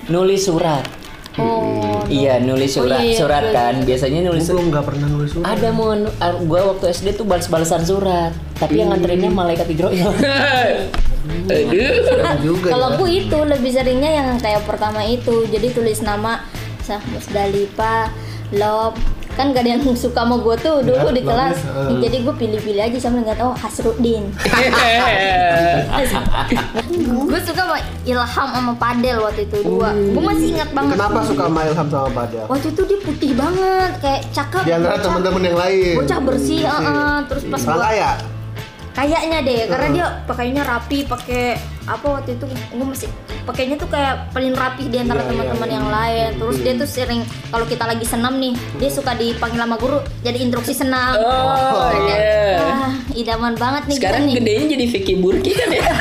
nulis surat. Oh. Iya, nulis surat. iya, Surat iya, kan biasanya nulis Gue belum nggak pernah nulis surat. Ada gua waktu SD tuh balas-balasan surat, tapi yang nganterinnya malaikat Hidroil. Serem juga. Kalau ya. aku itu lebih seringnya yang kayak pertama itu, jadi tulis nama Musdalifah, Love. Kan gak ada yang suka sama gue tuh dulu di kelas, jadi gue pilih-pilih aja sambil nggak tahu Hasruddin. Gue suka sama Ilham sama Padel waktu itu dua. Gue masih ingat banget. Kenapa suka sama Ilham sama Padel? Waktu itu dia putih banget, kayak cakep. Di antara teman-teman yang lain. Bocah bersih, terus pas Orang gua kaya. kayaknya deh, karena dia pakainya rapi, pakai apa waktu itu gue masih pakainya tuh kayak paling rapi di antara teman-teman yang lain. Terus dia tuh sering kalau kita lagi senam nih, dia suka dipanggil sama guru jadi instruksi senam. Oh iya. Wah, idaman banget nih Sekarang kita nih. gedenya jadi Vicky Burki kan ya.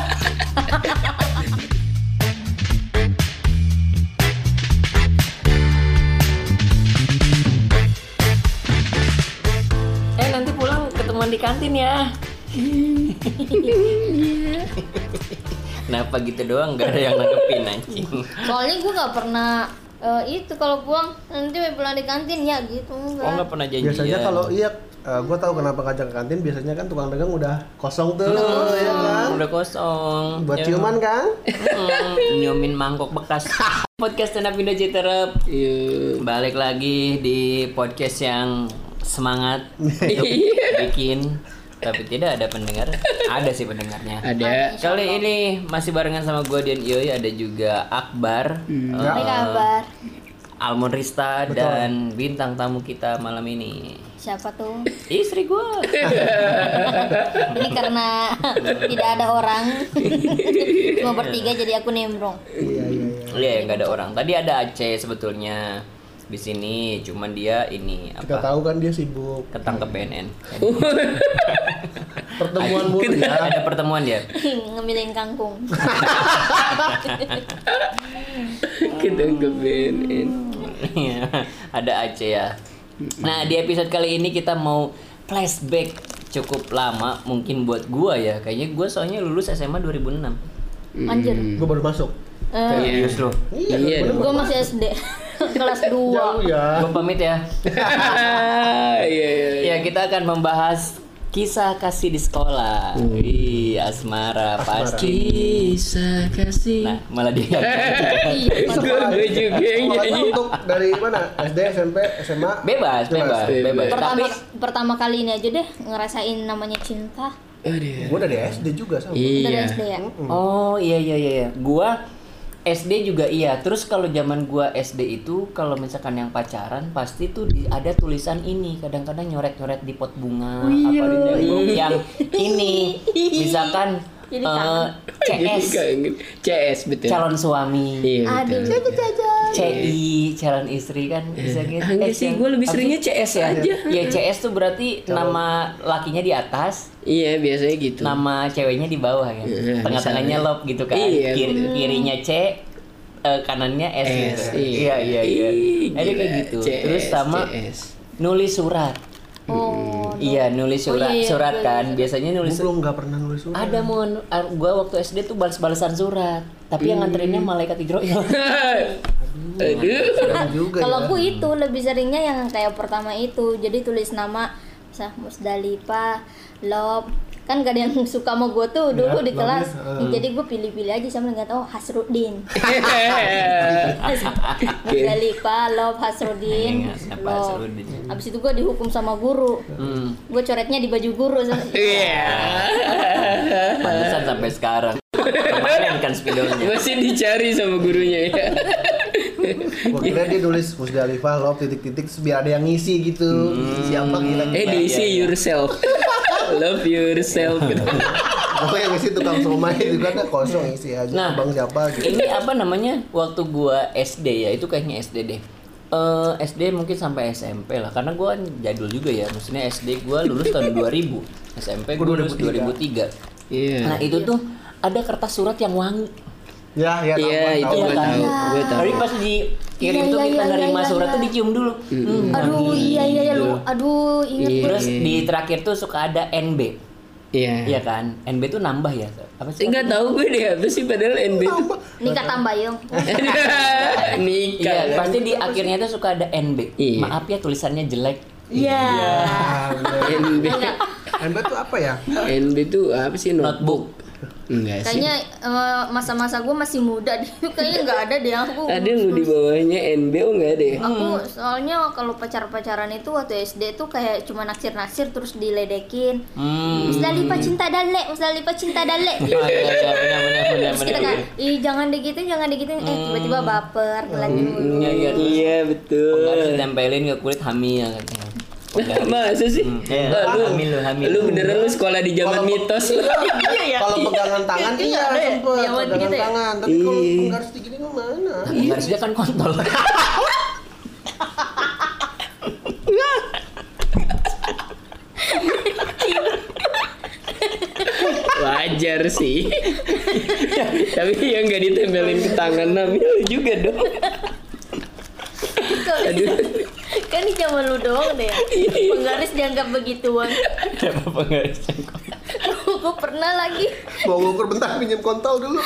Nanti pulang ketemuan di kantin ya. Kenapa gitu doang? Gak ada yang nanggepin anjing. Soalnya gue nggak pernah itu kalau pulang nanti pulang di kantin ya gitu enggak. Oh nggak pernah janjian. Biasanya kalau gue tahu kenapa ngajak ke kantin. Biasanya kan tukang dagang udah kosong tuh, ya kan? Udah kosong. Buat Ya. ciuman kan? Nyiumin mangkok bekas. Podcast Stand Up Indo Citerep. Balik lagi di podcast yang semangat untuk bikin, tapi tidak ada pendengar. Ada sih pendengarnya. Ada. Kali ini masih barengan sama gue Dian Iyoy, ada juga Akbar, Apa kabar? Almon Rista, dan bintang tamu kita malam ini Siapa tuh? istri gue. Ini karena tidak ada orang. Cuma bertiga jadi aku nimbrung. Iya, nggak ada orang. Tadi ada Aceh sebetulnya di sini, cuman dia ini Kita apa? tahu kan dia sibuk. Ketangkep BNN. Pertemuan mulu ya. Ada pertemuan dia. Ngemilin kangkung. Kita ke BNN. Iya, ada Aceh ya. Nah, di episode kali ini kita mau flashback cukup lama mungkin buat gua ya. Kayaknya gua soalnya lulus SMA 2006. Anjir. Gue baru masuk. Serius loh. Iya dong. Gue masih SD. Kelas 2. Jauh ya. Gua pamit ya. Iya. Ya, kita akan membahas kisah kasih di sekolah. Wih, asmara pasti. Kisah kasih. Nah, malah dia. Gue juga yang Sekolahnya nyanyi. untuk dari mana? SD, SMP, SMA? Bebas. Tapi Pertama kali ini aja deh ngerasain namanya cinta. Aduh. Gue dari SD juga sama. Dari Iya. SD ya. oh, iya. Gua SD juga iya. Terus kalau zaman gua SD itu kalau misalkan yang pacaran pasti tuh ada tulisan ini, kadang-kadang nyoret-nyoret di pot bunga apa di tembok yang ini. Misalkan Jadi kangen. CS CS betul. calon suami. Iya Aduh, betul. CI calon istri kan bisa gitu. Enggak sih, gue lebih seringnya CS aja. Ya CS tuh berarti nama lakinya di atas, Iya biasanya gitu. nama ceweknya di bawah kan. Iya, Tengah-tengahnya misalnya. love gitu kan. Iya, Kirinya C, kanannya S, gitu. S, Iya. Ih, Ada kayak gila, gitu. CS, Terus sama CS. nulis surat. Oh. Iya, nulis surat. iya, Surat iya, kan biasanya Gue nulis. belum nggak pernah nulis surat. Ada gua waktu SD tuh balas-balasan surat, tapi yang nganterinnya malaikat Hidroil. Serem juga Kalau ya. aku itu lebih seringnya yang kayak pertama itu, jadi tulis nama Musdalifah, Love. Kan gak ada yang suka sama gue tuh dulu di kelas, jadi gue pilih-pilih aja sambil nggak tahu Hasruddin. Musdalifah, Love, Hasruddin, Siapa Love. Hasruddin? Abis itu gue dihukum sama guru. Gue coretnya di baju guru. Iya. Pantesan sampai sekarang. Kemarin kan spidolnya. Masih dicari sama gurunya ya. Gue kira dia nulis Musdalifah, love, titik-titik biar ada yang ngisi gitu. Siapa kira-kira? Diisi yourself. Love yourself gitu. Pokoknya yang ngisi tukang somai itu kan kosong isi aja. Nah, Bang siapa gitu. Ini apa namanya? Waktu gua SD ya, itu kayaknya SD deh. SD mungkin sampai SMP lah, karena gua kan jadul juga ya. Maksudnya SD gua lulus tahun 2000, SMP gua lulus 2003. Iya. Nah itu tuh ada kertas surat yang wangi. Ya, Iya, itu tahu. gue tahu. Gue tahu. Tapi pas dikirim Iya, tuh iya, kita iya, nerima iya, surat iya. tuh dicium dulu. Aduh, iya lu. Aduh, inget Iya. gue. Terus di terakhir tuh suka ada NB. Iya. Iya kan? NB tuh nambah ya? Apa sih? Enggak tahu gue deh apa sih padahal NB itu. Nikah tambah yung. Nikah. Iya, kan? pasti di akhirnya tuh suka ada NB. Iya. Maaf ya tulisannya jelek. Iya. NB. NB tuh apa ya? NB itu apa sih notebook? Enggak sih. Kayaknya masa-masa gue masih muda deh. Kayaknya nggak ada deh aku. Ada lu di bawahnya NB oh enggak ada ya? Aku soalnya kalau pacaran itu waktu SD tuh kayak cuma naksir-naksir terus diledekin. Musdalifah cinta dalek, Musdalifah cinta dalek. Iya, benar. Terus kita kan, ih jangan digituin. Tiba-tiba baper, lanjut. Iya betul. Harus ditempelin ke kulit hamil katanya. Masa sih? Hamil. Lu beneran lu sekolah di zaman mitos. Kalau pegangan tangan iya sempet Iya, pegangan gitu ya? tangan. Tapi kalau penggaris digini mana? Harusnya kan kontol. Wajar sih. Tapi yang nggak ditempelin ke tangan hamil juga dong. Aduh. Kan di zaman lu doang deh. Penggaris dianggap begituan. Siapa penggaris cengkok? Gue pernah lagi. Mau ngukur bentar pinjam kontol dulu.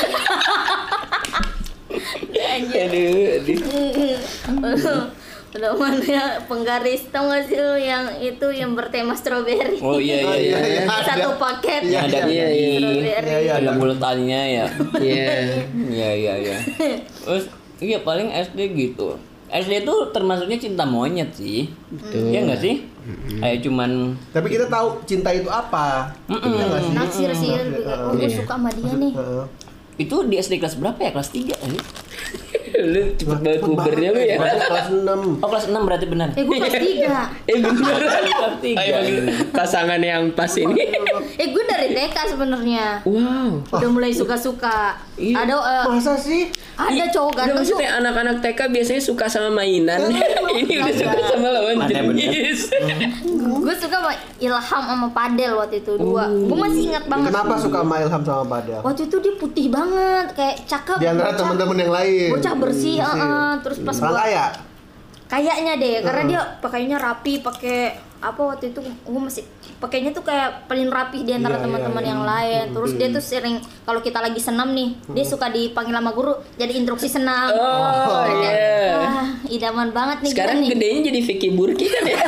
Aduh. Udah mana ya penggaris, tau gak sih lu yang itu yang bertema strawberry? Oh iya. Satu paket. Iya, Ada iya, iya. strawberry. Iya, Ada bulatannya ya. Iya. Iya. Terus iya paling SD gitu. SD tuh termasuknya cinta monyet sih. Betul. Iya enggak sih? Kayak cuman Tapi kita tahu cinta itu apa. Iya nggak sih? Naksir sih, gue suka sama dia nih. Heeh. itu di SD kelas berapa ya? Kelas 3 ini? Lu cepet banget pubernya lu ya. Berarti kelas 6. Oh kelas 6 berarti benar. Gue kelas 3. Bener. Kelas 3. Pasangan yang pas ini. Gue dari TK sebenarnya. Wow. Udah mulai suka-suka. Iya. Ada Masa sih? ada cowok Udah ganteng tuh. maksudnya anak-anak TK biasanya suka sama mainan. Ini udah suka sama lawan Mana jenis. Gue suka sama Ilham sama Padel waktu itu dua. Gue masih ingat banget. Kenapa suka sama Ilham sama Padel? Waktu itu dia putih banget, kayak cakep. Di antara bocah- teman-teman yang lain. Bocah bersih, terus pas Orang gua kaya? kayaknya deh, karena dia pakainya rapi, pakai apa waktu itu gue masih pakainya tuh kayak paling rapi di antara Iya, teman-teman iya. yang lain. Terus dia tuh sering kalau kita lagi senam nih, dia suka dipanggil sama guru jadi instruksi senam. Oh iya. Wah, idaman banget nih Sekarang gua nih. gedenya jadi Vicky Burki kan ya?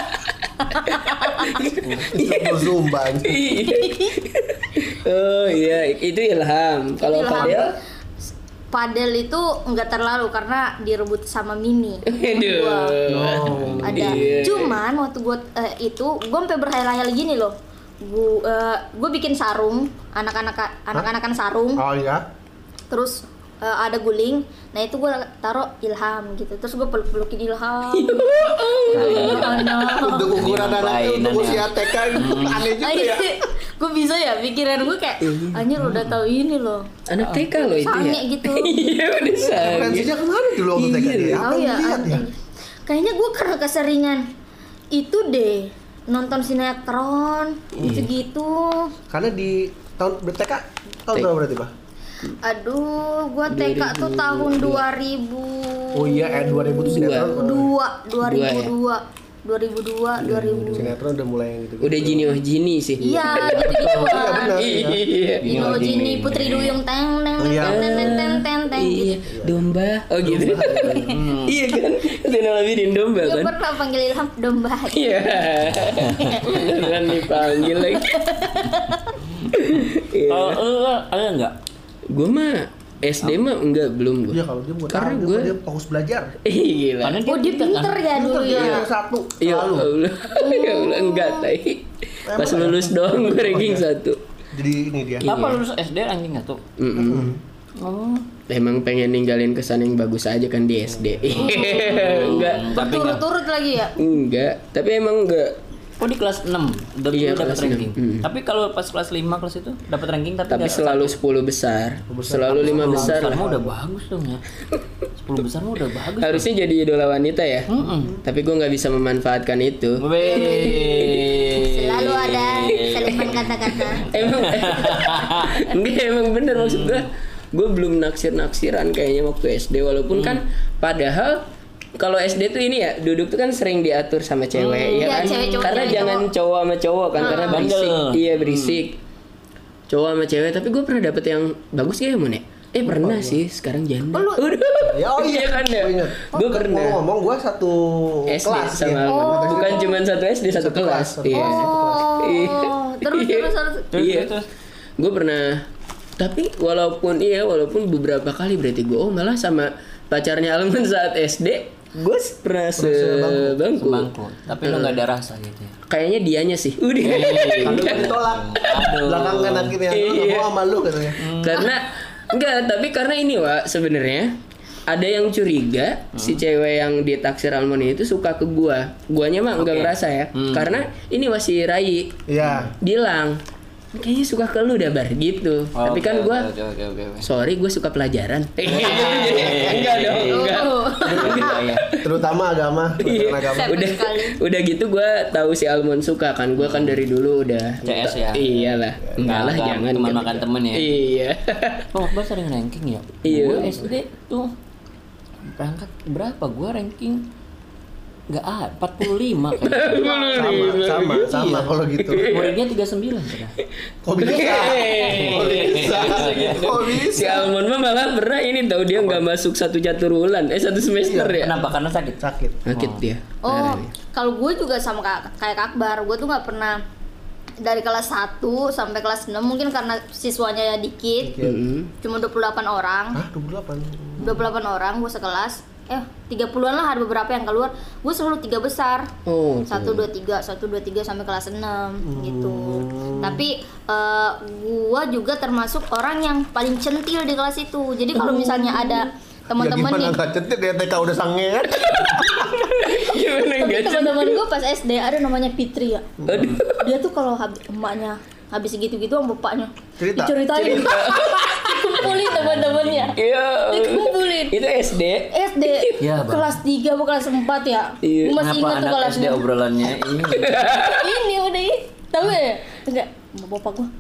Itu Zumba. Oh iya, itu Ilham. Kalau Ilham. Fadel? Padel itu enggak terlalu karena direbut sama Mimi. Aduh. Oh. Ada. Iya. Cuman waktu gue itu gue sampai berhayal-hayal gini loh. Gue bikin sarung, anak-anakan sarung. Oh iya. Terus ada guling. Nah itu gue taruh Ilham gitu. Terus gue peluk-pelukin Ilham. Untuk ukuran anak untuk usia TK itu aneh juga ya. Gue bisa ya pikiran gue kayak anjir udah tahu ini loh. Anak TK loh itu Sange ya? gitu. Iya udah sange. Referensinya kemana dulu waktu TK dia? Apa Tahu yang ya, dilihat ya? kayaknya gue karena keseringan itu deh nonton sinetron gitu-gitu. Karena di tahun TK tahun berapa berarti, Pak? Aduh, gue TK tuh tahun 2000. Oh iya, 2000 tuh sinetron. 2002. Sinetron udah mulai yang gitu. Udah Jini oh Jini sih. Iya, gitu-gituan. benar. Iya. Dino Jini Putri Duyung teng teng Iya. teng Iya. gitu. Domba. Oh gitu. Iya kan? Zena Labidin domba Gue kan? pernah panggil Ilham domba. Iya. Beneran dipanggil lagi. Kalau lu ada enggak? Gue mah SD mah enggak belum gue. Iya, kalau dia buat Karena dia, gua- dia fokus belajar. Gila. Karena Oh dia pinter ya dulu ya. Yang satu Ya selalu. Allah. Ya Allah enggak tai. Pas lulus doang gue ranking 1. Jadi ini dia. Apa lulus SD ranking 1? Oh. Emang pengen ninggalin kesan yang bagus aja kan di SD. Enggak. Tapi enggak. Berturut-turut lagi ya. Enggak, tapi emang enggak. Oh di kelas 6 udah Iya, dapat kelas ranking. 6. Tapi kalau pas kelas 5 kelas itu dapat ranking tapi Tapi nggak- selalu 10 besar. Selalu 5 besar. besar mah udah bagus dong ya. 10 besar mah udah bagus. Harusnya jadi idola wanita ya. Tapi gue nggak bisa memanfaatkan itu. Weh. Selalu ada selipan kata-kata. Emang bener maksud gue belum naksir-naksiran kayaknya waktu SD walaupun kan padahal kalau SD tuh ini ya duduk tuh kan sering diatur sama cewek ya Iya, kan. cewek cowok, Karena cewek jangan cowok. cowok sama cowok kan karena berisik. Bandel. Iya berisik. Cowok sama cewek tapi gue pernah dapet yang bagus ya Mon ya? Pernah sih sekarang janda. Oh, lu- Udah. Ya, oh iya. kan ya. Oh, ingat. Gue pernah. Ngomong gue satu SD kelas sama ya. bukan cuma satu SD satu kelas. satu Iya. Iya. Oh, terus Iya. terus. Iya. Terus. Gue pernah. Tapi walaupun beberapa kali berarti gue malah sama pacarnya Alman saat SD gue pernah sebangku. Sebangku. Tapi lu nggak ada rasa gitu ya. Kayaknya dianya sih. Udah. Tapi ditolak. Belakangan akhirnya lu nggak mau sama lu katanya. Karena tapi karena ini Wak sebenarnya ada yang curiga si cewek yang ditaksir Almond itu suka ke guanya mah enggak ngerasa ya karena ini masih Rai Iya. bilang kayaknya suka ke lu dah Bar gitu tapi kan gua Oke. sorry gue suka pelajaran enggak dong enggak Iya. Terutama agama. Iya. Agama. udah sekali. udah gitu gue tahu si Almond suka kan gue kan dari dulu udah CS ya? iyalah enggak lah Enggak, jangan teman kan. makan temen ya? iya Oh, Akbar sering ranking ya? Iya. Gue SD tuh berangkat berapa? Gue ranking nggak 45 kayaknya. Sama kalau gitu. Muridnya 39 sudah. Kok bisa? Kok bisa? Kok bisa? Si Almond mah malah pernah ini tahu dia nggak masuk satu catur bulan satu semester ya Kenapa? Karena sakit. Sakit. sakit dia Oh, kalau gue juga sama kayak Kak Akbar, gue tuh nggak pernah dari kelas 1 sampai kelas 6 mungkin karena siswanya dikit, cuma 28 orang. Hah, 28. 28 orang gue sekelas. 30-an lah, ada beberapa yang keluar. Gue selalu 3 besar. oh 1 2 3 sampai kelas 6 gitu. Tapi gue juga termasuk orang yang paling centil di kelas itu. Jadi kalau misalnya ada teman-teman ya, nih, gimana nggak centil dia TK udah sangean. gimana tapi enggak teman-teman gue pas SD ada namanya Fitri ya. aduh Dia tuh kalau emaknya habis gitu-gitu sama bapaknya Cerita. diceritain. Dikumpulin teman-temannya. iya Dikumpulin. itu SD SD Ya, Bang. kelas 3 atau kelas 4 ya. Iya. Gue masih Kenapa ingat tuh anak SD kelasnya. obrolannya ini? Ini udah tahu ya? Enggak, bapak gua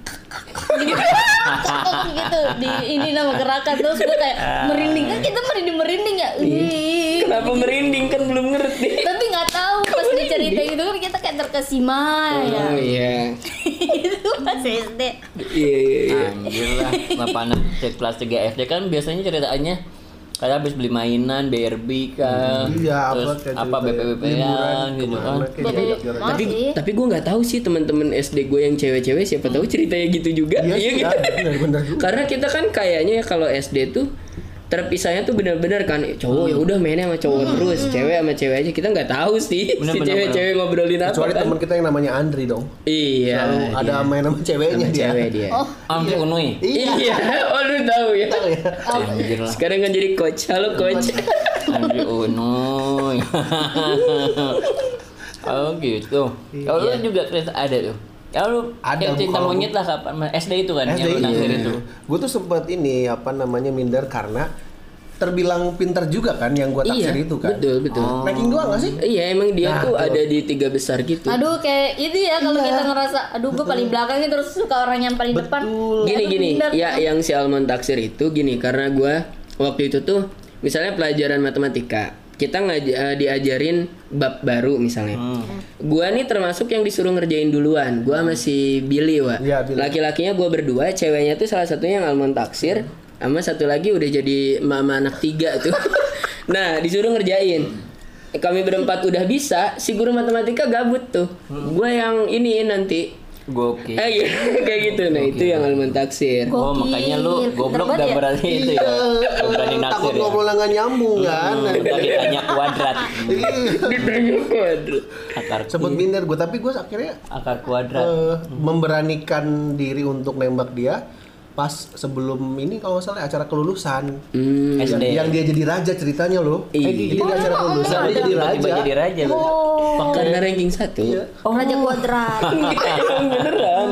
gitu di ini nama gerakan terus gue kayak merinding kan kita merinding ya. Ih. kenapa merinding kan belum ngerti Tapi nggak tahu pas dia cerita gitu kan kita kayak terkesima ya. oh iya Itu pas SD. iya Anjir lah, bapak anak kelas 3 SD kan biasanya ceritanya kayak habis beli mainan, BRB kan, Iya, terus kayak apa cerita BPP-an liburan gitu kan. kemana, kayak Betul. jalan-jalan. tapi Masih. tapi gue nggak tahu sih teman-teman SD gue yang cewek-cewek siapa tahu ceritanya gitu juga Iya sih, gitu benar juga. karena kita kan kayaknya ya kalau SD tuh terpisahnya tuh benar-benar kan cowok ya udah mainnya sama cowok terus cewek sama cewek aja kita nggak tahu sih Bener, si bener, cewek-cewek ngobrolin apa Kecuali kan teman kita yang namanya Andri dong. iya Selalu dia. ada main sama ceweknya Sama dia. cewek dia Oh, Amri Unui. iya oh lu tahu ya Tahu ya. Anjir lah. sekarang kan jadi coach halo coach Amri Unui. Oh gitu. Kalau lu juga cerita ada tuh. Ya lu Ada, yang cinta kalau- monyet lah kapan? SD itu kan yang lu naksir itu. Gue tuh sempet ini apa namanya minder karena terbilang pintar juga kan yang gue iya taksir itu kan. betul betul Ranking doang gak sih? iya emang dia Nah, tuh tuh. ada di 3 besar gitu aduh kayak itu ya kalau Iya. kita ngerasa aduh gue paling belakangnya terus suka orang yang paling depan. gini Aduh, gini minder. ya yang si Almond taksir itu gini karena gua waktu itu tuh misalnya pelajaran matematika kita diajarin bab baru misalnya gua nih termasuk yang disuruh ngerjain duluan gua masih Billy Wak Iya, Billy. laki-lakinya gua berdua ceweknya tuh salah satunya yang Almond taksir sama satu lagi udah jadi mama anak 3 tuh nah disuruh ngerjain kami berempat udah bisa si guru matematika gabut tuh gua yang ini nanti Gokil. iya kayak gitu nah itu yang Almond taksir Oh, makanya lu Gokil. goblok Pinter gak banget berani itu ya. Gak berani naksir Takut ya. ngobrol nggak nyambung kan. Kita ditanya kuadrat. ditanya kuadrat Akar Sebut minder gue, tapi gue akhirnya akar kuadrat. memberanikan diri untuk nembak dia pas sebelum ini kalau nggak salah acara kelulusan. SD. Yang dia jadi raja ceritanya loh. Iya. Jadi di acara kelulusan dia jadi raja. Tiba-tiba jadi raja. Oh, karena ranking 1 Iya. Raja Kuadrat. emang beneran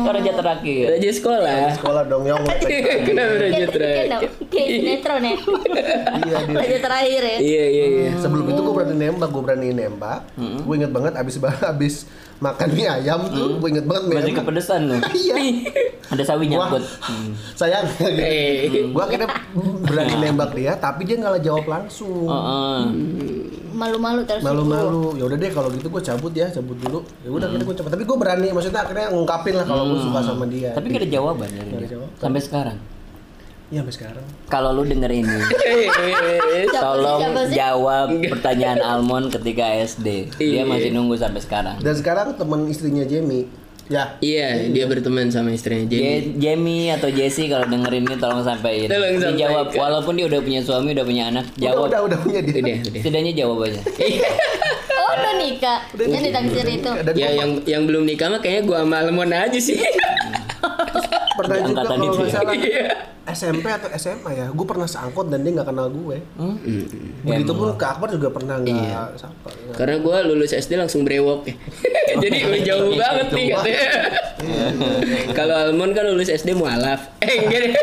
Raja terakhir. Raja sekolah. Sekolah dong yang Kenapa raja terakhir? Kayak sinetron ya. Iya dia. Raja terakhir ya. Iya. Sebelum itu gue berani nembak. Gue inget banget abis makan mie ayam tuh, gue inget banget mie Masih ayam. kepedesan loh. Iya. Ada sawi Wah, nyangkut. sayang. Gue akhirnya berani nembak dia, tapi dia nggak jawab langsung. Malu-malu terus. Malu-malu. Ya udah deh kalau gitu gue cabut dulu. Ya udah akhirnya gue cabut. Tapi gue berani, maksudnya akhirnya ngungkapin lah kalau gue suka sama dia. Tapi gak ada jawaban dari Nggak ada dia. jawaban. Sampai sekarang. Iya sampai sekarang. Kalau lu denger ini, tolong Siapa sih? jawab pertanyaan Almond ketika SD. Dia masih nunggu sampai sekarang. Dan sekarang teman istrinya Jamie. Ya. Iya, dia berteman sama istrinya Jamie. Jamie atau Jessie kalau dengerin ini tolong sampein. Tolong Dijawab sampaikan. walaupun dia udah punya suami, udah punya anak, jawab. Udah punya dia. Udah. Setidaknya jawab aja. Oh, udah nikah. Yang ditaksir itu. Dan Ya yang belum nikah mah kayaknya gua sama Almond aja sih. pernah Di juga angkatan kalau itu nggak ya? salah Iya. SMP atau SMA ya, gue pernah seangkot dan dia nggak kenal gue. Begitupun ke Akbar juga pernah nggak sapa. Karena gua lulus SD langsung brewok ya. Jadi jauh banget nih katanya. Kalau Almond kan lulus SD mualaf. Enggak deh.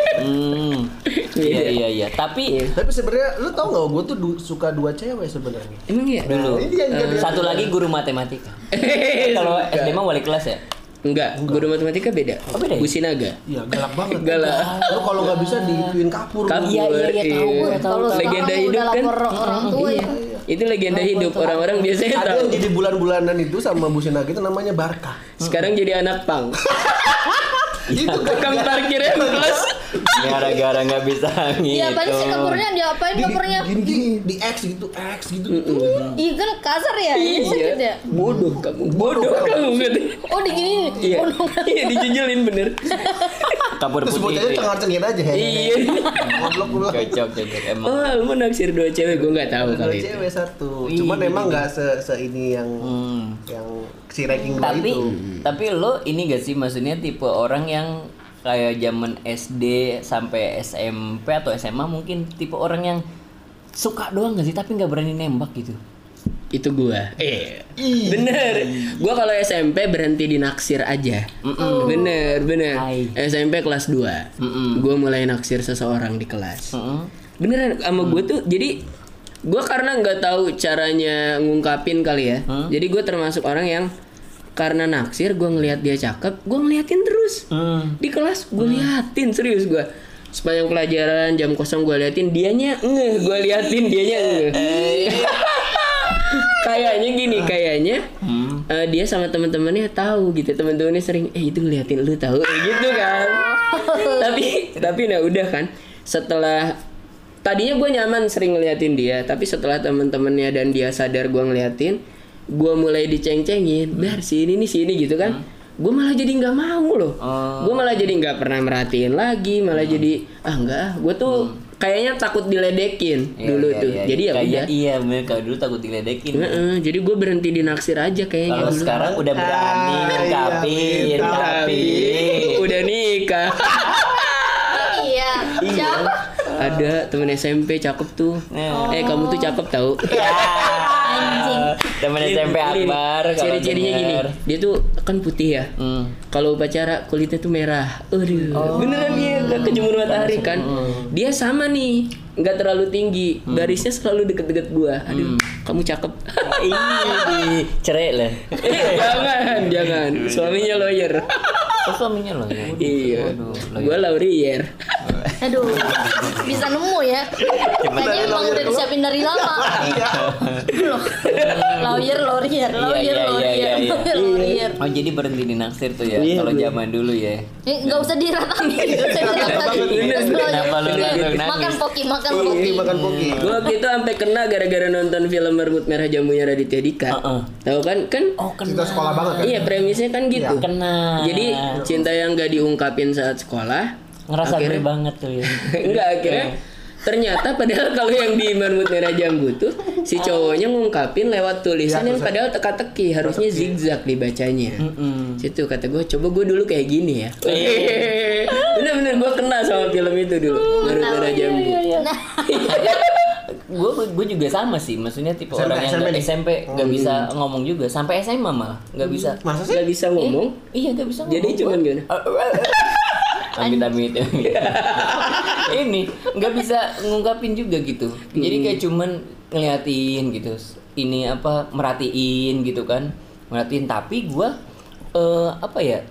Iya. Tapi Tapi sebenarnya lu tau nggak, gue tuh suka dua cewek sebenarnya. Emang ya? dulu Ini yang nggak dia- satu lagi guru matematika. Kalau SD mah wali kelas ya. Enggak, guru matematika beda. Oh, beda ya? Businaga. Iya galak banget. Galak. Lu kalau nggak bisa digituin kapur. Kabur. Iya, tahu gue, tahu. Kalau sekarang Legenda udah hidup kan. lapor orang tua ya. Itu legenda hidup. Orang-orang biasanya Ada tahu. yang jadi bulan-bulanan itu sama Bu Sinaga itu namanya Barkah. Sekarang jadi anak pang. Itu Tukang parkirnya plus. Gara-gara nggak bisa gitu. Iya, apa sih kapurnya? Diapain kapurnya? gini di X gitu. Iya kan kasar ya? Sakit ya? Bodoh kamu gitu. Oh, digini. Iya. Oh, no. Iya dijujulin bener. Kabur Terus putih. bocahnya cengar-cengir aja. Iya. Goblok. Cocok emang. Oh, lu naksir dua cewek, gue nggak tahu Dua kali itu. cewek satu. Cuman emang nggak se ini yang si ranking dua Tapi itu. tapi lo ini gak sih, maksudnya tipe orang yang kayak zaman SD sampai SMP atau SMA mungkin tipe orang yang suka doang gak sih tapi nggak berani nembak gitu. Itu gua. Bener. Gua kalau SMP berhenti di naksir aja. Bener. Hai. SMP kelas 2. Gua mulai naksir seseorang di kelas. Beneran sama gua tuh jadi gua karena nggak tahu caranya ngungkapin kali ya. Jadi gua termasuk orang yang karena naksir gua ngelihat dia cakep, gua ngeliatin terus. Di kelas gua liatin serius gua. Sepanjang pelajaran jam kosong gua liatin dianya gua liatin dianya Kayaknya gini, dia sama teman-temannya tahu gitu. Teman-temannya sering itu ngeliatin lu tahu gitu kan. tapi nah udah kan. Setelah tadinya gue nyaman sering ngeliatin dia, tapi setelah teman-temannya dan dia sadar gue ngeliatin, gue mulai diceng-cengin, "Bar sini gitu kan." Gue malah jadi nggak mau loh. Gue malah jadi nggak pernah merhatiin lagi, malah jadi enggak. Gue tuh kayaknya takut diledekin dulu tuh. Jadi ya udah. Iya, bener, kalau dulu takut diledekin. Jadi gue berhenti di naksir aja kayaknya Kalau dulu. sekarang udah berani ngungkapin, Tapi udah nikah. Iya. Siapa? Ada temen SMP cakep tuh. Kamu tuh cakep tau. Anjing. Temen SMP Akbar kalau Ciri-cirinya gini, denger. dia tuh kan putih ya. Kalau upacara kulitnya tuh merah. Beneran dia nggak kejemur matahari kan. Dia sama nih, nggak terlalu tinggi, garisnya selalu deket-deket gua. Aduh, kamu cakep. Ih, cerai lah. Jangan. Suaminya lawyer. Oh, suaminya loh ya. Iya. Waduh, Gua laurier. Aduh. Bisa nemu ya. Kayaknya emang udah disiapin dari lama. Loh. Lawyer. Oh, jadi berhenti di naksir tuh ya kalau zaman dulu ya. Nggak usah diratapi. Kenapa lu nangis? Makan poki. Makan poki. Gua waktu itu sampai kena gara-gara nonton film Merbut Merah Jamunya Raditya Dika. Tahu kan? Oh, Kita sekolah banget kan. Iya, premisnya kan gitu. kena. Jadi cinta yang gak diungkapin saat sekolah Ngerasa akhirnya- gue banget tuh ya. enggak akhirnya ternyata padahal kalau yang di Merbut Merah Jambu tuh si cowoknya ngungkapin lewat tulisan yang padahal teka-teki harusnya zigzag dibacanya. Situ kata gue coba gue dulu kayak gini ya. Bener-bener gue kena sama film itu dulu Merbut Merah Jambu. Nah, gue juga sama sih, maksudnya tipe SMP, orang yang SMP nih? SMP nggak bisa ngomong juga, sampai SMA malah nggak bisa. Masa sih? Gak bisa ngomong. Iya nggak bisa ngomong. Jadi cuman gua. gimana? Amit-amit. Ini nggak bisa ngungkapin juga gitu. Jadi kayak cuman ngeliatin gitu. Ini apa, merhatiin gitu kan. Merhatiin, tapi gua apa ya?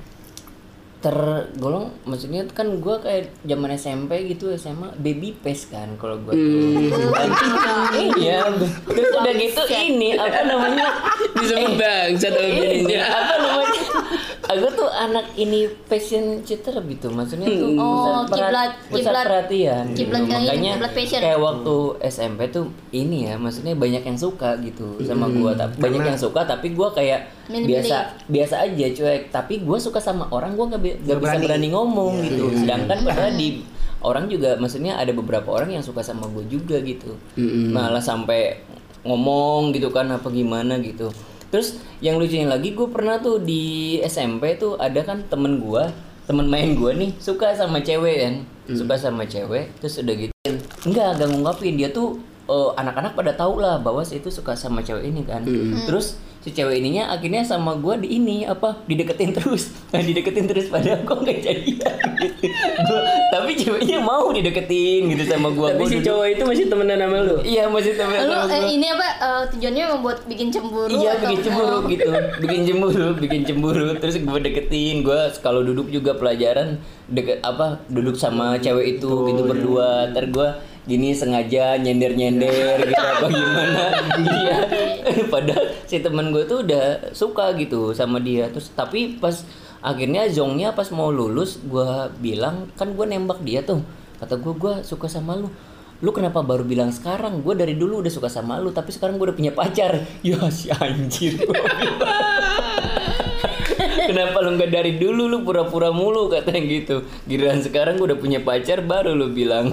Tergolong, maksudnya kan gue kayak zaman SMP gitu, SMA baby face kan kalau gue tuh. Iya, terus udah gitu ini apa namanya, Disebut bangsat ini opininya. apa namanya, aku tuh anak ini fashion cheater gitu, maksudnya tuh pusat perhatian gitu. Kiblat kayak Makanya kiblat fashion. kayak waktu SMP tuh ini ya, maksudnya banyak yang suka gitu sama gue, banyak yang suka, tapi gue kayak biasa aja cuek, tapi gue suka sama orang, gue gak bisa berani ngomong gitu. Sedangkan padahal di orang juga, maksudnya ada beberapa orang yang suka sama gue juga gitu, malah sampai ngomong gitu kan apa gimana gitu. Terus yang lucunya lagi, gue pernah tuh di SMP tuh ada kan temen main gue nih suka sama cewek kan, suka sama cewek, terus udah gitu enggak ngungkapin, dia tuh anak-anak pada tahu lah bahwa si itu suka sama cewek ini kan. Terus si cewek ininya akhirnya sama gue dideketin terus padahal gue nggak jadian gitu. Tapi ceweknya mau dideketin gitu sama gue. Tapi si cowok itu masih temenan sama lu? Iya, masih temenan sama gue. Ini apa tujuannya membuat bikin cemburu? Iya, atau bikin cemburu gitu. Bikin cemburu. Terus gue deketin. Gue kalau duduk juga pelajaran duduk sama cewek itu gitu berdua. Ntar gue gini sengaja nyender gitu apa gimana. Iya. Padahal si teman gue tuh udah suka gitu sama dia. Terus tapi pas akhirnya zongnya pas mau lulus, gue bilang kan gue nembak dia tuh. Kata gue suka sama lu. Lu kenapa baru bilang sekarang? Gue dari dulu udah suka sama lu, tapi sekarang gue udah punya pacar. Ya si anjir. Kenapa lu nggak dari dulu, lu pura-pura mulu katanya gitu. Giliran sekarang gue udah punya pacar baru lu bilang.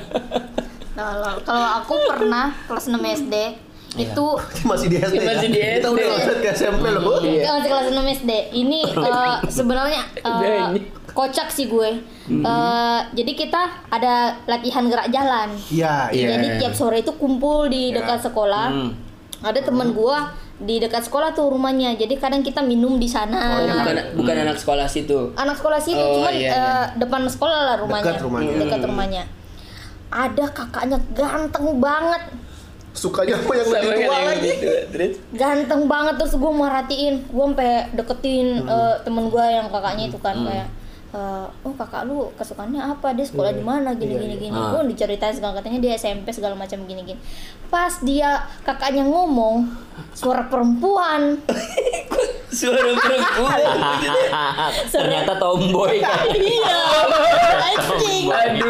Kalau aku pernah kelas 6 SD itu Masih di SD. Masih di Kita SD. udah masuk ke SMP loh. masih kelas 6 SD. Ini sebenarnya kocak sih gue. Jadi kita ada latihan gerak jalan. Iya. Jadi tiap sore itu kumpul di dekat sekolah. Ada teman gua di dekat sekolah tuh rumahnya. Jadi kadang kita minum di sana. Bukan anak sekolah situ. Anak sekolah situ, Oh, cuman iya. depan sekolah lah rumahnya. Dekat rumahnya. Ada kakaknya ganteng banget. Sukanya apa yang lebih tua lagi? Gitu. Terus Ganteng banget, terus gue merhatiin. Gue sampai deketin temen gue yang kakaknya itu kan kayak oh kakak lu kesukaannya apa, dia sekolah di mana gini. Gue diceritain segala, katanya dia SMP segala macam gini. Pas dia kakaknya ngomong suara perempuan. suara perempuan. Ternyata tomboy kan. Iya. Anjing.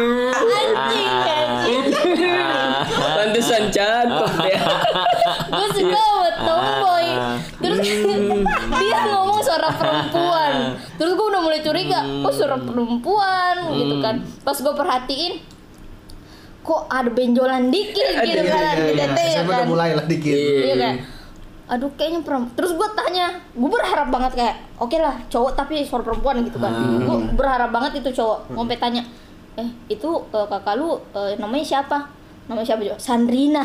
Pantesan cakep ya. Gue suka buat tomboy. Terus dia ngomong suara perempuan. Terus gue udah mulai curiga, kok suara perempuan gitu kan. Pas gue perhatiin, kok ada benjolan dikit gitu kan, ya SMP udah kan. mulai lah dikit. Iya kan. Aduh kayaknya perempuan. Terus gue tanya, gue berharap banget kayak oke lah cowok tapi suara perempuan gitu kan. Gue berharap banget itu cowok. Sampai tanya, itu kakak lu namanya siapa? Namanya siapa juga? Sandrina.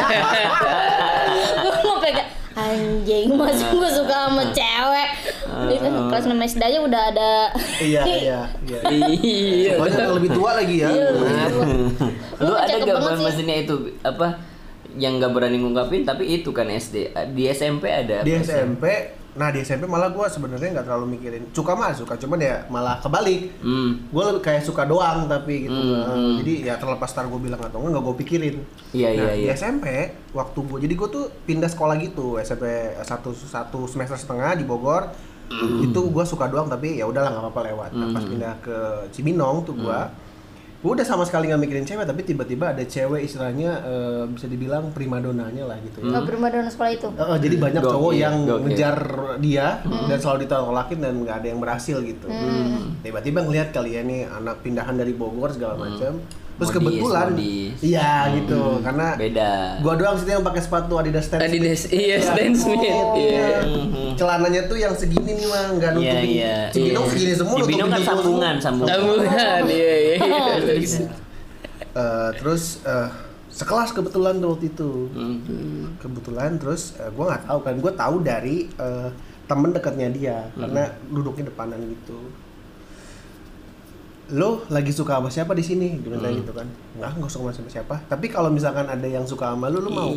Gue mau pegang anjing, masih gue suka sama cewek. Kelas 6 SD aja udah ada. Iya. Iya. Banyak yang lebih tua lagi ya. Lu ada cakep gak banget sih. maksudnya itu apa yang nggak berani ngungkapin tapi itu kan SD, di SMP ada Di apa sih? SMP, nah di SMP malah gue sebenarnya nggak terlalu mikirin. Suka, cuman ya malah kebalik. Gue lebih kayak suka doang tapi gitu. Jadi ya terlepas tar gue bilang atau nggak gue pikirin. Iya. Di SMP waktu gue, jadi gue tuh pindah sekolah gitu, SMP satu semester setengah di Bogor. Itu gue suka doang tapi ya udahlah nggak apa-apa lewat. Nah, pas pindah ke Cibinong tuh gue udah sama sekali nggak mikirin cewek, tapi tiba-tiba ada cewek istilahnya bisa dibilang primadonanya lah gitu ya. Primadona sekolah itu. Jadi banyak Gokil, cowok yang gokil. ngejar dia dan selalu ditolakin dan nggak ada yang berhasil gitu. Tiba-tiba ngelihat kali ya nih anak pindahan dari Bogor segala macam. Terus kebetulan, iya gitu, karena beda. gua doang situ yang pakai sepatu Adidas Stan Smith. Adidas, iya Stan Smith. Iya. Celananya tuh yang segini nih mah, nggak nutupin. Iya. Cibinong segini semua. Cibinong kan nutupin sambungan. Tabungan, iya. Terus sekelas kebetulan tuh waktu itu. Kebetulan terus gue nggak tahu kan, gue tahu dari temen dekatnya dia karena duduknya depanan gitu. Lo lagi suka sama siapa di sini? Dia bilang gitu kan. Nggak suka sama siapa. Tapi kalau misalkan ada yang suka sama lu mau?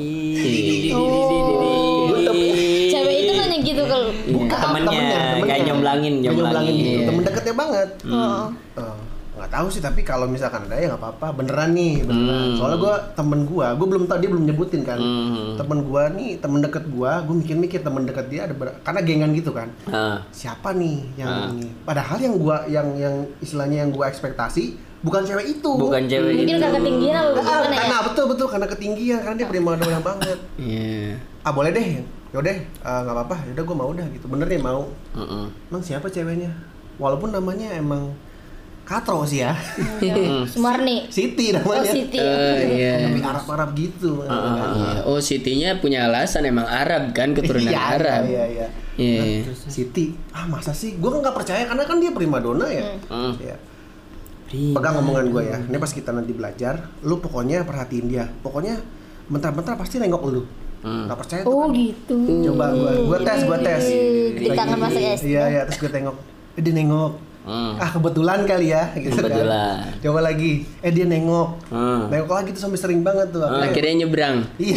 Cewek itu nanya gitu kalau Temennya kayak nyomblangin. Gitu. Temen deketnya banget. Nggak tahu sih, tapi kalau misalkan ada ya nggak apa-apa, beneran. Soalnya temen gue belum tahu, dia belum nyebutin kan. Temen gue nih, temen deket gue mikir temen deket dia ada karena gengan gitu kan. Siapa nih yang ini? Padahal yang istilahnya yang gue ekspektasi bukan cewek itu. Bukan cewek mungkin itu. karena ketinggian atau gimana ya? Karena betul karena ketinggian, karena dia prima dona banget. Boleh deh, yaudah nggak apa-apa, yaudah gue mau dah gitu. Bener nih mau. Emang siapa ceweknya? Walaupun namanya emang Katro sih ya. Sumarni. Siti namanya. Siti. Tapi Arab gitu. Oh, Sitinya punya alasan emang Arab kan, keturunan Arab. Iya. Siti. Masa sih? Gue nggak percaya karena kan dia primadona ya. Ya. Pegang omongan gue ya. Ini pas kita nanti belajar, lu pokoknya perhatiin dia. Pokoknya bentar-bentar pasti nengok lu. Nggak percaya tuh. Oh gitu. Coba gue tes. Di tangan Mas Es. Iya, terus gue tengok. Dia nengok. Kebetulan kali ya gitu Kebetulan. kan. Coba lagi. Dia nengok. Nengok lagi tuh sampai sering banget tuh. Akhirnya nyebrang. Iya.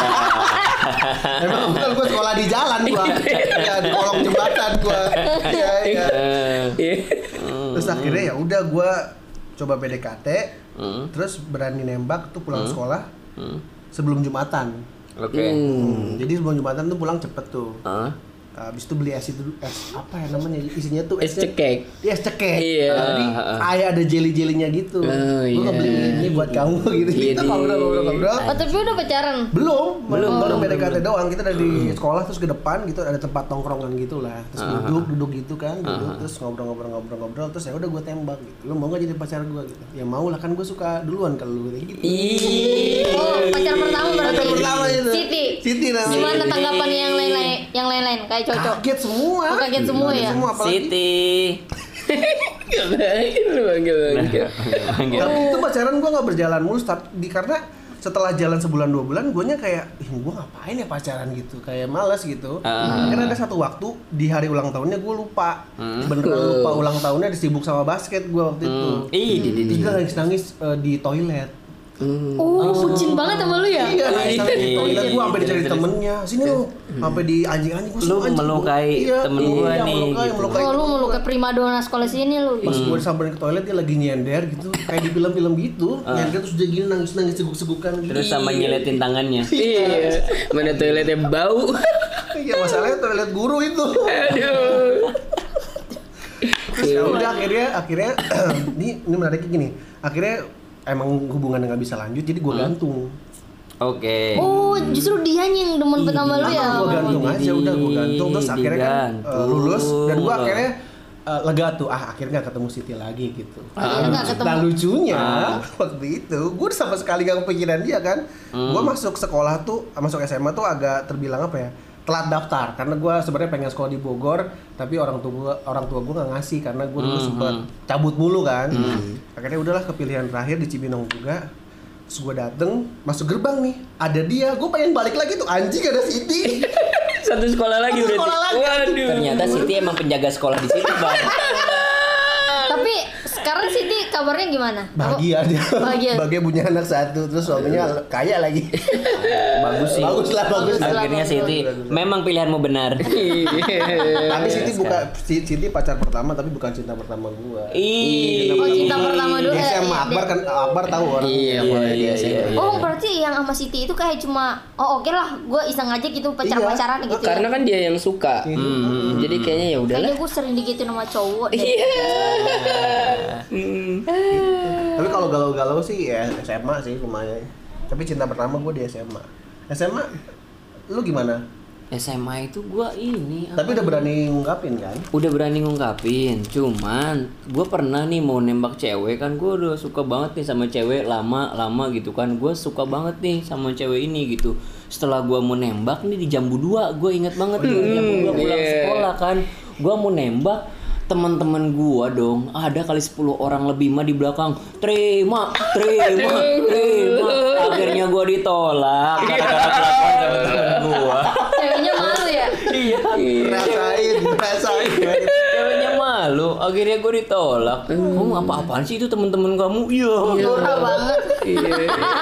Emang betul gue sekolah di jalan gua. Ya di kolong jembatan gua. Iya. Terus akhirnya ya udah gua coba PDKT. Terus berani nembak tuh pulang sekolah. Sebelum Jumatan. Oke. Jadi sebelum Jumatan tuh pulang cepet tuh. Habis itu beli es apa ya namanya, isinya tuh Es cekek. Es cekek. Iya. Jadi kayak ada jelly-jellynya gitu. Gue ngebeli ini buat kamu gitu. Kita ngobrol. Oh tapi udah pacaran? Belum. Baru PDKT doang. Kita dari sekolah terus ke depan gitu ada tempat tongkrongan gitu lah. Terus duduk gitu kan, terus ngobrol terus ya udah gue tembak gitu. Lu mau gak jadi pacar gue gitu? Ya mau lah, kan gue suka duluan kalau lu gitu. Oh, pacar pertama berarti. Pacar pertama itu. Siti namanya. Gimana tanggapan yang lain-lain? Kayak cocok. Kaget semua. Kaget semua ya. Siti. Bangga. Tapi itu pacaran gue nggak berjalan mulus, tapi karena setelah jalan sebulan 2 bulan, guanya kayak, gue ngapain ya pacaran gitu, kayak malas gitu. Karena ada satu waktu di hari ulang tahunnya gue lupa, beneran lupa ulang tahunnya, disibuk sama basket gue waktu itu. Terus gue nangis di toilet. Bucin banget sama lu ya? Iya, di toilet gue sampai dicari temennya. Sini lu, sampai di anjing-anjing gue. Lu melukai temen gue nih. Lu melukai primadona sekolah sini lu. Pas gue disamperin ke toilet dia lagi nyender gitu, kayak di film-film gitu. Nyender terus dia gini nangis seguk-segukan gitu. Terus sama nyiletin tangannya. Iya. Mana toiletnya bau. Iya, masalahnya toilet guru itu. Aduh. Terus ya udah akhirnya ini menariknya gini. Akhirnya emang hubungannya nggak bisa lanjut, jadi gue gantung. Oke. Oh, justru dia yang demen pertama lu ya? Gue gantung aja, udah gue gantung. Terus akhirnya kan lulus, dan gue akhirnya lega tuh, akhirnya nggak ketemu Siti lagi gitu. Akhirnya nggak ketemu. Nah lucunya waktu itu, gue sama sekali gak kepikiran dia kan. Gue masuk sekolah tuh, masuk SMA tuh agak terbilang apa ya, telat daftar, karena gue sebenarnya pengen sekolah di Bogor, tapi orang tua gue nggak ngasih karena gue dulu sempet cabut mulu kan. Akhirnya udahlah kepilihan terakhir di Cibinong juga. Terus gue dateng, masuk gerbang nih, ada dia, gue pengen balik lagi tuh, anjing ada Siti. Satu sekolah lagi berarti. Waduh. Ternyata Siti emang penjaga sekolah di situ, Bang. Tapi sekarang Siti kabarnya gimana? Bahagia dia. Bahagia. Punya anak satu, terus suaminya kaya lagi. Bagus sih. Bagus lah. Akhirnya Siti memang pilihanmu benar. Tapi Siti pacar pertama, tapi bukan cinta pertama gua. Oh, cinta pertama dulu. Di SMA Akbar tahu orang. Iya. Oh, berarti yang sama Siti itu kayak cuma oke lah, gue iseng aja gitu pacaran gitu. Karena kan dia yang suka. Jadi kayaknya ya udahlah. Kayaknya gue sering digituin sama cowok deh. Tapi kalau galau-galau sih ya SMA sih lumayan. Tapi cinta pertama gue di SMA. SMA lu gimana? SMA itu gua ini. Tapi udah berani ngungkapin kan? Udah berani ngungkapin, cuman gue pernah nih mau nembak cewek kan, gue udah suka banget nih sama cewek lama gitu kan, gue suka banget nih sama cewek ini gitu. Setelah gue mau nembak nih di Jambu 2, gue inget banget tuh Jambu 2 pulang sekolah kan, gue mau nembak, teman-teman gue dong ada kali 10 orang lebih mah di belakang terima Akhirnya gue ditolak gara-gara kelakuan sama temen gue. Ceweknya malu ya. Iya. Rasain. Ceweknya malu. Akhirnya gue ditolak. Kamu apa-apaan sih itu temen-temen kamu? Iya. Norak banget. Iya.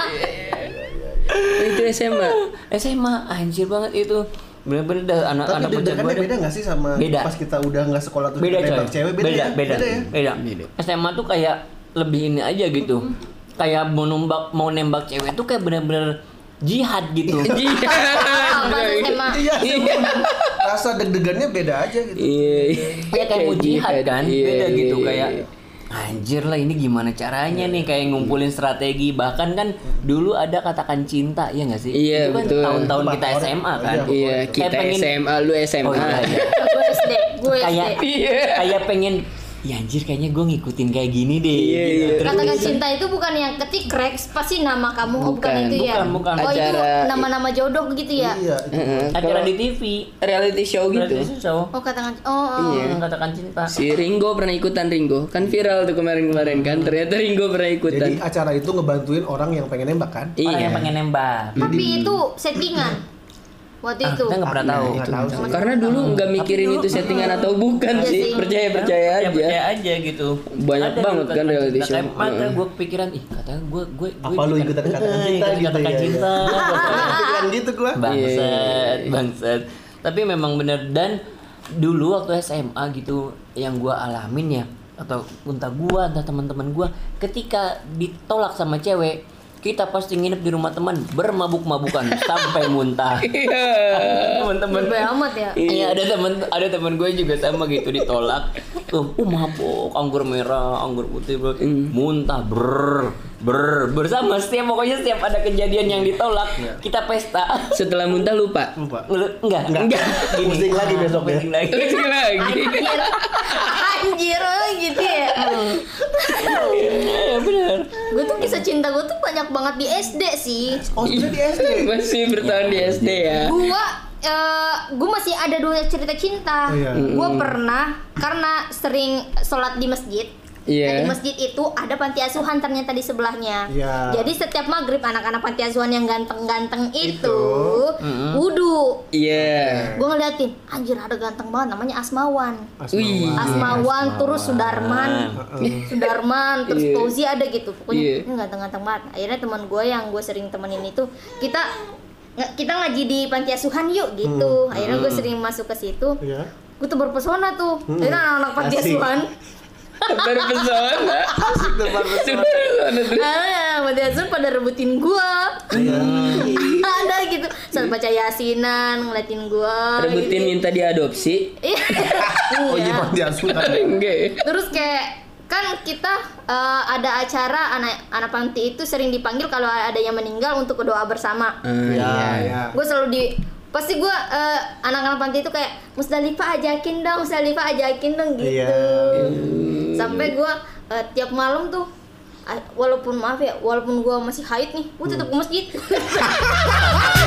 Itu SMA. Anjir banget itu. Bener-bener dah anak-anak Tapi bocah gue. beda nggak sih sama Beda. pas kita udah nggak sekolah terus Beda kita coy. nembak cewek? Beda, ya? beda. ya? Beda. SMA tuh kayak lebih ini aja gitu. Kayak mau nembak cewek tuh kayak bener-bener jihad gitu. Ah, pas SMA. Iya, rasa deg-degannya beda aja gitu. Iya. Ya kayak mau jihad kan. Iya, Beda iya, gitu iya. kayak anjir lah ini gimana caranya nih kayak ngumpulin strategi. Bahkan kan dulu ada katakan cinta ya nggak sih? Iya, Itu kan betul. tahun-tahun kita SMA kan. Iya, kita Kayak pengen- SMA, lu SMA. Oh iya, iya. Gue SD. Kayak Iya. kayak pengen ya anjir kayaknya gue ngikutin kayak gini deh. Iya, gitu. iya. Terus Katakan cinta itu bukan yang ketik Rex pasti nama kamu. Oh, bukan Bukan, itu ya. bukan. Oh, itu Acara- nama-nama jodoh gitu ya. Iya, itu. acara Kalau di TV. reality show gitu. Reality show. Oh, katakan oh. Iya. Katakan cinta. Si Ringo pernah ikutan Ringo. Kan viral tuh kemarin-kemarin kan. Ternyata Ringo pernah ikutan. Jadi acara itu ngebantuin orang yang pengen nembak kan? Orang Iya. yang pengen nembak. Tapi itu settingan. Waktu itu. Kita nggak pernah tahu. Nggak tahu sih. Karena dulu nggak mikirin itu settingan atau bukan Iya sih. sih. Percaya Ya, aja. percaya aja gitu. Banyak banget kan reality show. Maka gue kepikiran, ih katanya gue Apa lu ikutan katakan cinta gitu katakan ya? cinta. Pikiran gitu gua. Bangsat. Tapi memang bener dan dulu waktu SMA gitu yang gue alamin ya atau entah gue entah teman-teman gue ketika ditolak sama cewek kita pasti nginep di rumah teman bermabuk-mabukan sampai muntah. Teman-teman Lebih amat ya. Iya ada teman gue juga sama gitu ditolak. Mabuk, anggur merah, anggur putih, bro. Muntah bersama pokoknya setiap ada kejadian yang ditolak kita pesta. Setelah muntah lupa. Lupa. Enggak. Gini. Pusing lagi besok ya. Pusing lagi. Pusing lagi. Anjir gitu ya. Iya benar. Gue tuh kisah cinta gue tuh banyak banget di SD sih. Oh, sudah di SD. Masih bertahan di SD ya. Gue masih ada 2 cerita cinta. Oh, iya. Gue pernah karena sering sholat di masjid. Iya. Nah, di masjid itu ada panti asuhan ternyata di sebelahnya. Iya. Jadi setiap maghrib anak-anak panti asuhan yang ganteng-ganteng itu wudhu. Iya. Gue ngeliatin, anjir ada ganteng banget namanya Asmawan. Wih. Asmawan, terus Sudarman, terus Iya. Fauzi ada gitu. Pokoknya Iya. ini ganteng-ganteng banget. Akhirnya teman gue yang gue sering temenin itu kita ngaji di panti asuhan yuk gitu. Akhirnya gue sering masuk ke situ. Iya. Gue tuh berpesona tuh. Akhirnya anak-anak panti Asik. asuhan. Terpesona. Panti asuhan pada rebutin gue. Ada gitu. Saat baca yasinan ngeliatin gue. Rebutin minta diadopsi. Oh iya, Iya. panti asuhan. Enggak. Terus kayak kan kita ada acara anak panti itu sering dipanggil kalau ada yang meninggal untuk berdoa bersama. Iya. Gue selalu pasti gue anak-anak panti itu kayak Musdalifah ajakin dong gitu. Iya. Sampai gue tiap malam tuh walaupun gue masih haid nih, gue tetap ke masjid.